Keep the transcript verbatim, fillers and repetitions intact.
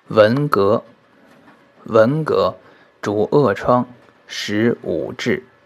文革，文革主恶疮，使五志。